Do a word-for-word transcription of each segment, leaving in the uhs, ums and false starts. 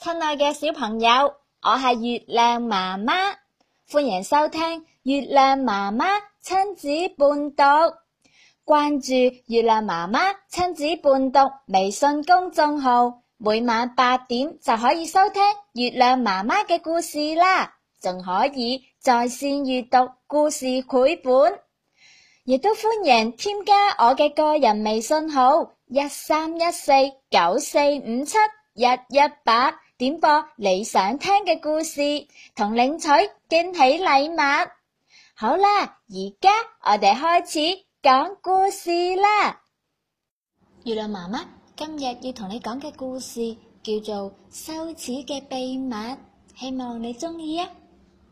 親愛嘅小朋友，我係月亮媽媽，歡迎收聽月亮媽媽親子伴讀。關注月亮媽媽親子伴讀微信公眾號，每晚八點就可以收聽月亮媽媽嘅故事啦，仲可以在線閱讀故事繪本，亦都歡迎添加我嘅個人微信號一三一四九四五七一一八，點播你想聽嘅故事，同領取驚喜禮物。好啦，而家我哋開始講故事啦。月亮媽媽今日要同你講嘅故事叫做《羞恥嘅秘密》，希望你鍾意啊！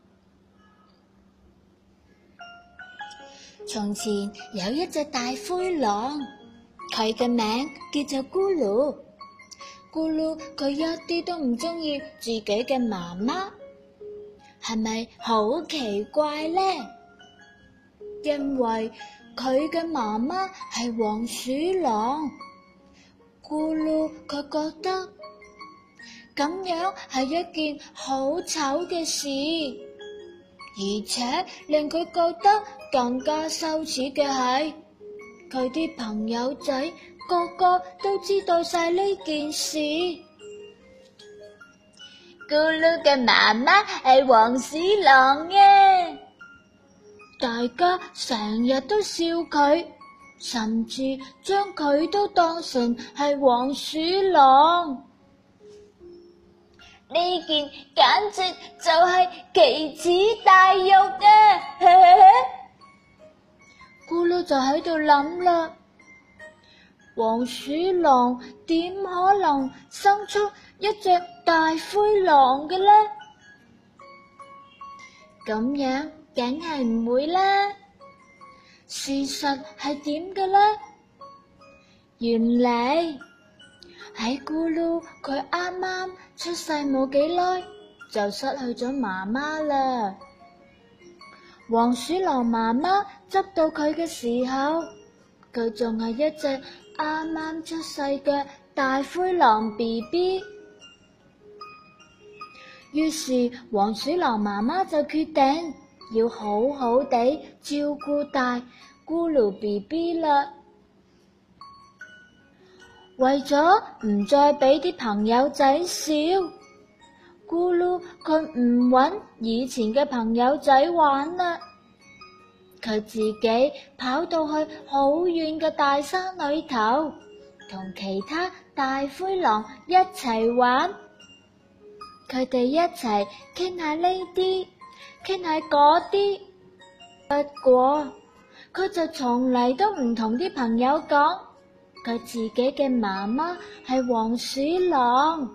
從前有一隻大灰狼，佢嘅名叫做咕嚕。咕嚕佢一啲都唔鍾意自己嘅媽媽，係咪好奇怪呢？因為佢嘅媽媽係黃鼠狼，咕嚕佢覺得咁樣係一件好醜嘅事，而且令佢覺得更加羞恥嘅係，佢啲朋友仔個個都知道晒呢件事。咕嚕嘅媽媽係黃鼠狼嘅，大家成日都笑佢，甚至將佢都當成係黃鼠狼。呢件簡直就係奇恥大辱啊！咕嚕就喺度諗啦，黃鼠狼點可能生出一隻大灰狼嘅呢？咁樣梗係唔會啦。事實係點嘅呢？原嚟喺咕嚕佢啱啱出世冇幾耐就失去咗媽媽啦。黃鼠狼媽媽執到佢嘅時候，佢仲係一隻啱啱出世嘅大灰狼 B B。 於是黃鼠狼媽媽就決定要好好地照顧大咕嚕 B B 啦。為咗唔再俾啲朋友仔笑，咕嚕佢唔搵以前嘅朋友仔玩啦，佢自己跑到去好遠嘅大山裏頭，同其他大灰狼一齊玩。佢哋一齊傾下呢啲，傾下嗰啲。不過佢就從嚟都唔同啲朋友講佢自己嘅媽媽係黃鼠狼。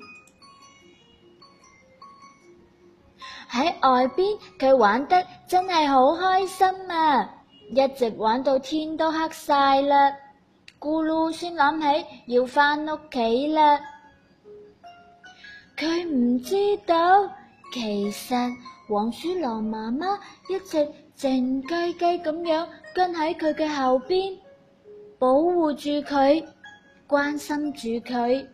喺外邊佢玩得真係好開心啊，一直玩到天都黑晒啦，咕嚕先諗起要返屋企啦。佢唔知道，其實黃鼠狼媽媽一直靜雞雞咁樣跟喺佢嘅後邊，保護住佢，關心住佢。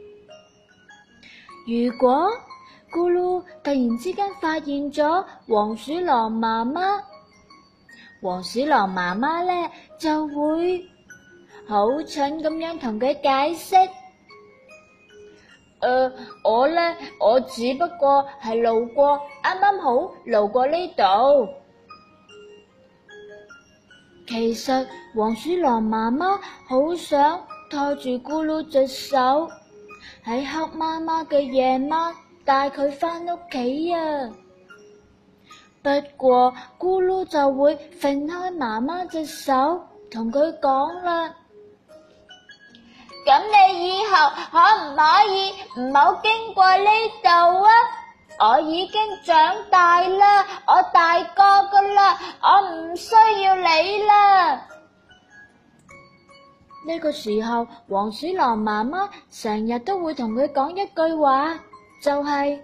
如果咕嚕突然之間發現咗黃鼠狼媽媽，黃鼠狼媽媽呢就會好蠢咁樣同佢解釋。誒、呃，我呢，我只不過係路過，啱啱好路過呢度。其實黃鼠狼媽媽好想拖住咕嚕隻手，喺黑麻麻嘅夜晚帶佢返屋企啊。不過咕嚕就會揈開媽媽隻手，同佢講啦。咁你以後可唔可以唔好經過呢度啊？我已經長大啦，我大個噶啦，我唔需要你啦。呢個時候，黃鼠狼媽媽成日都會同佢講一句話，就係：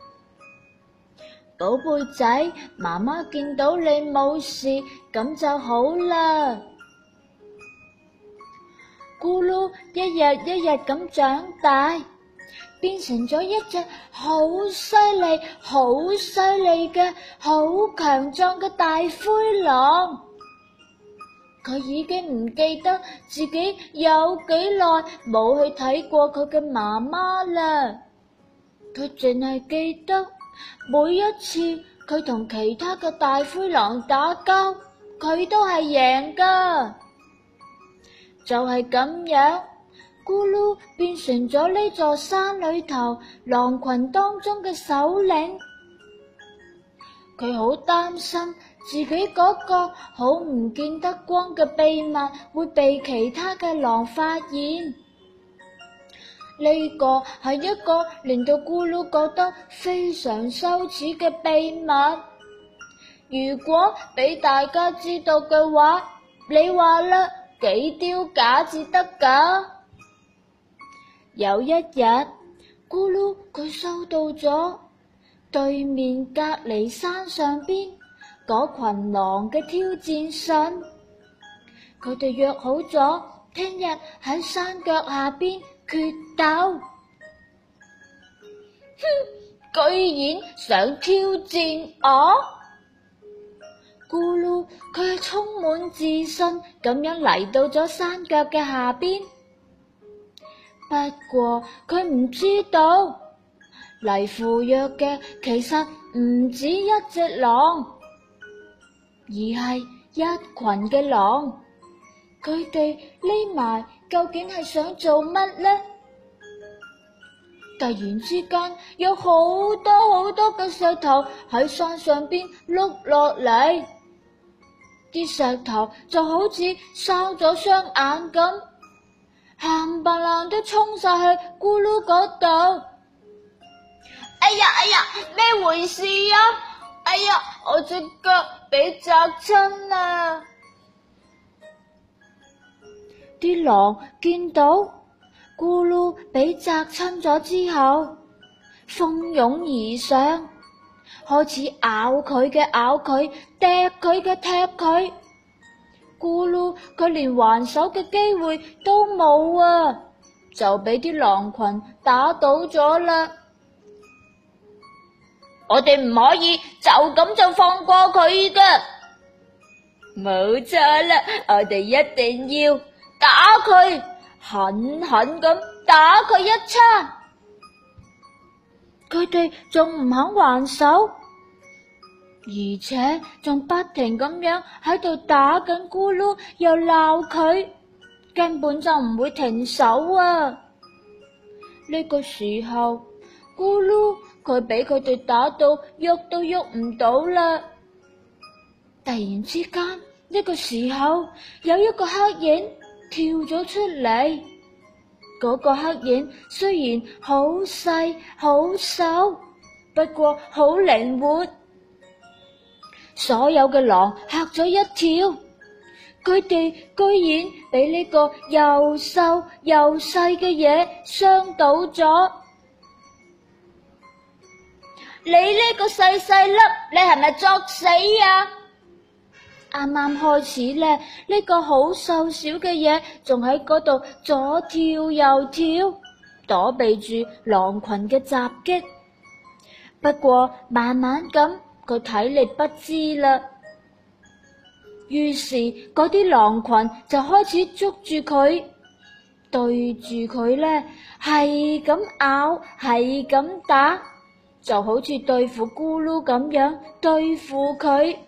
寶貝仔，媽媽見到你冇事，咁就好啦。咕嚕一日一日咁長大， 變成咗一隻好犀利、好犀利嘅、好強壯嘅大灰狼。佢已經唔記得自己有幾耐冇去睇過佢嘅媽媽啦。佢淨係記得每一次佢同其他嘅大灰狼打交，佢都係贏噶。就係咁樣，咕嚕變成咗呢座山裏頭狼群當中嘅首領。佢好擔心自己嗰個好唔見得光嘅秘密會被其他嘅狼發現。呢個係一個令到咕嚕覺得非常羞恥嘅秘密。如果俾大家知道嘅話，你話啦，幾丟架至得㗎？有一日，咕嚕佢收到咗對面隔離山上邊嗰群狼嘅挑戰信，佢哋約好咗聽日喺山腳下邊決鬥。哼，居然想挑戰我！咕嚕佢係充滿自信咁樣嚟到咗山腳嘅下邊，不過佢唔知道嚟赴約嘅其實唔止一隻狼，而係一群嘅狼。佢哋匿埋究竟係想做乜呢？突然之間有好多好多嘅石頭喺山上邊碌落嚟，啲石頭就好似生咗雙眼咁，冚唪唥都衝晒去咕嚕嗰度。哎呀哎呀，咩回事啊？哎呀，我隻腳俾砸親啦！啲狼見到咕嚕俾砸親咗之後，蜂擁而上，開始咬佢嘅咬佢，踢佢嘅踢佢。咕嚕佢連還手嘅機會都冇啊，就俾啲狼群打倒咗啦。我哋唔可以就咁就放過佢㗎。冇錯啦，我哋一定要打佢，狠狠咁打佢一餐。佢哋仲唔肯還手，而且仲不停咁樣喺度打緊咕嚕，又鬧佢，根本就唔會停手啊！呢個時候，咕嚕佢俾佢哋打到喐都喐唔到啦。突然之間，呢個時候有一個黑影跳咗出嚟。嗰個黑影雖然好細好瘦，不過好靈活。所有嘅狼嚇咗一跳，佢哋居然俾呢個又瘦又細嘅嘢傷到咗。你呢個細細粒，你係咪作死啊？啱啱開始咧，呢個好瘦小嘅嘢仲喺嗰度左跳右跳，躲避住狼群嘅襲擊。不過慢慢咁，佢體力不支啦，於是嗰啲狼群就開始捉住佢，對住佢咧係咁咬，係咁打，就好似對付咕嚕咁樣對付佢。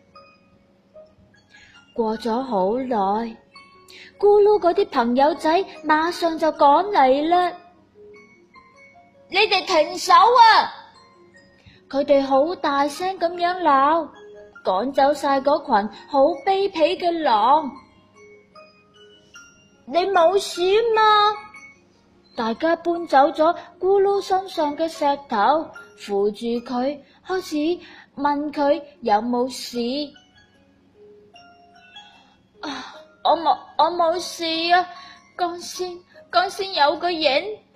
過咗好耐，咕嚕嗰啲朋友仔馬上就趕嚟啦。你哋停手啊！佢哋好大聲咁樣鬧，趕走晒嗰群好卑鄙嘅狼。你冇事嘛？大家搬走咗咕嚕身上嘅石頭，扶住佢，開始問佢有冇事。啊！我冇我冇事啊！剛先剛先有個影，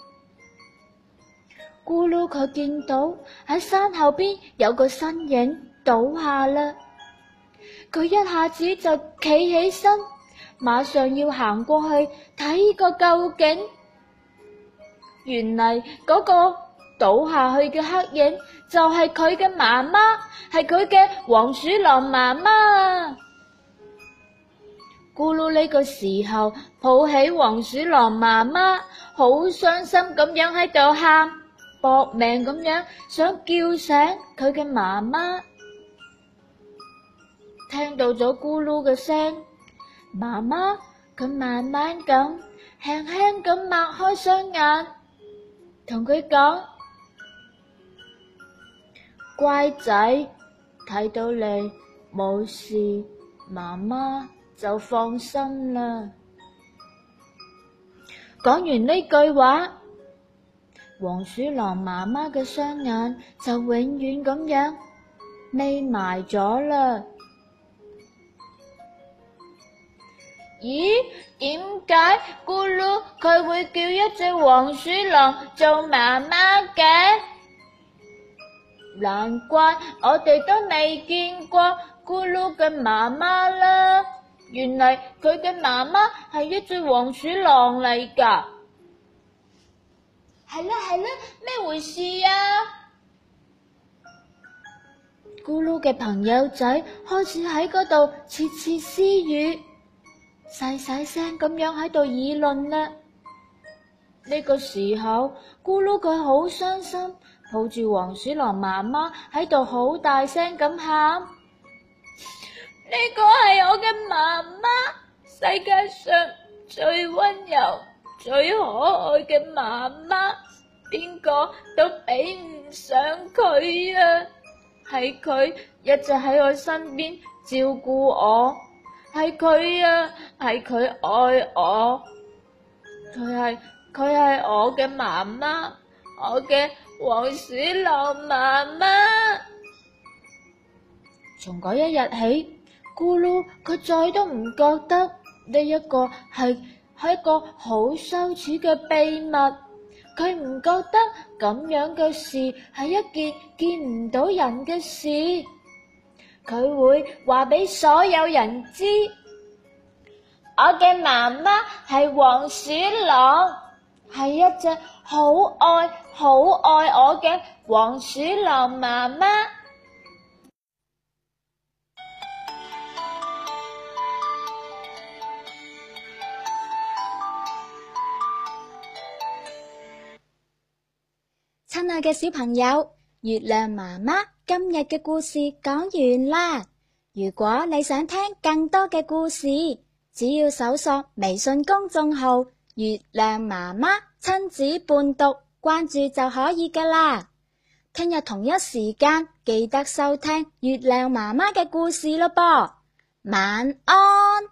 咕嚕佢見到喺山後邊有個身影倒下啦，佢一下子就企起身，馬上要行過去睇個究竟。 原嚟嗰個倒下去嘅黑影就係佢嘅媽媽，係佢嘅黃鼠狼媽媽。咕嚕呢個時候抱起黃鼠狼媽媽，好傷心咁樣喺度喊，搏命咁樣想叫醒佢嘅媽媽。聽到咗咕嚕嘅聲，媽媽佢慢慢咁輕輕咁擘開雙眼，同佢講：乖仔，睇到你冇事，媽媽就放心啦。講完呢句話，黃鼠狼媽媽嘅雙眼就永遠咁樣眯埋咗啦。咦？點解咕嚕佢會叫一隻黃鼠狼做媽媽嘅？難怪我哋都未見過咕嚕嘅媽媽啦。原來佢嘅媽媽係一隻黃鼠狼嚟㗎。係啦係啦，咩回事啊？咕嚕嘅朋友仔開始喺嗰度竊竊私語，細細聲咁樣喺度議論啦。呢個時候，咕嚕佢好傷心，抱住黃鼠狼媽媽喺度好大聲咁喊。呢個係我嘅媽媽，世界上最溫柔、最可愛嘅媽媽，邊個都比唔上佢啊！係佢一直喺我身邊照顧我，係佢啊，係佢愛我，佢係佢係我嘅媽媽，我嘅黃鼠狼媽媽。從嗰一日起，咕嚕佢再都唔覺得呢一個係係一個好羞恥嘅秘密，佢唔覺得咁樣嘅事係一件見唔到人嘅事，佢會話俾所有人知，我嘅媽媽係黃鼠狼，係一隻好愛好愛我嘅黃鼠狼媽媽。親愛嘅小朋友，月亮媽媽今日嘅故事講完啦。如果你想聽更多嘅故事，只要搜索微信公眾號月亮媽媽親子伴讀，關注就可以㗎啦。聽日同一時間記得收聽月亮媽媽嘅故事咯噃。晚安。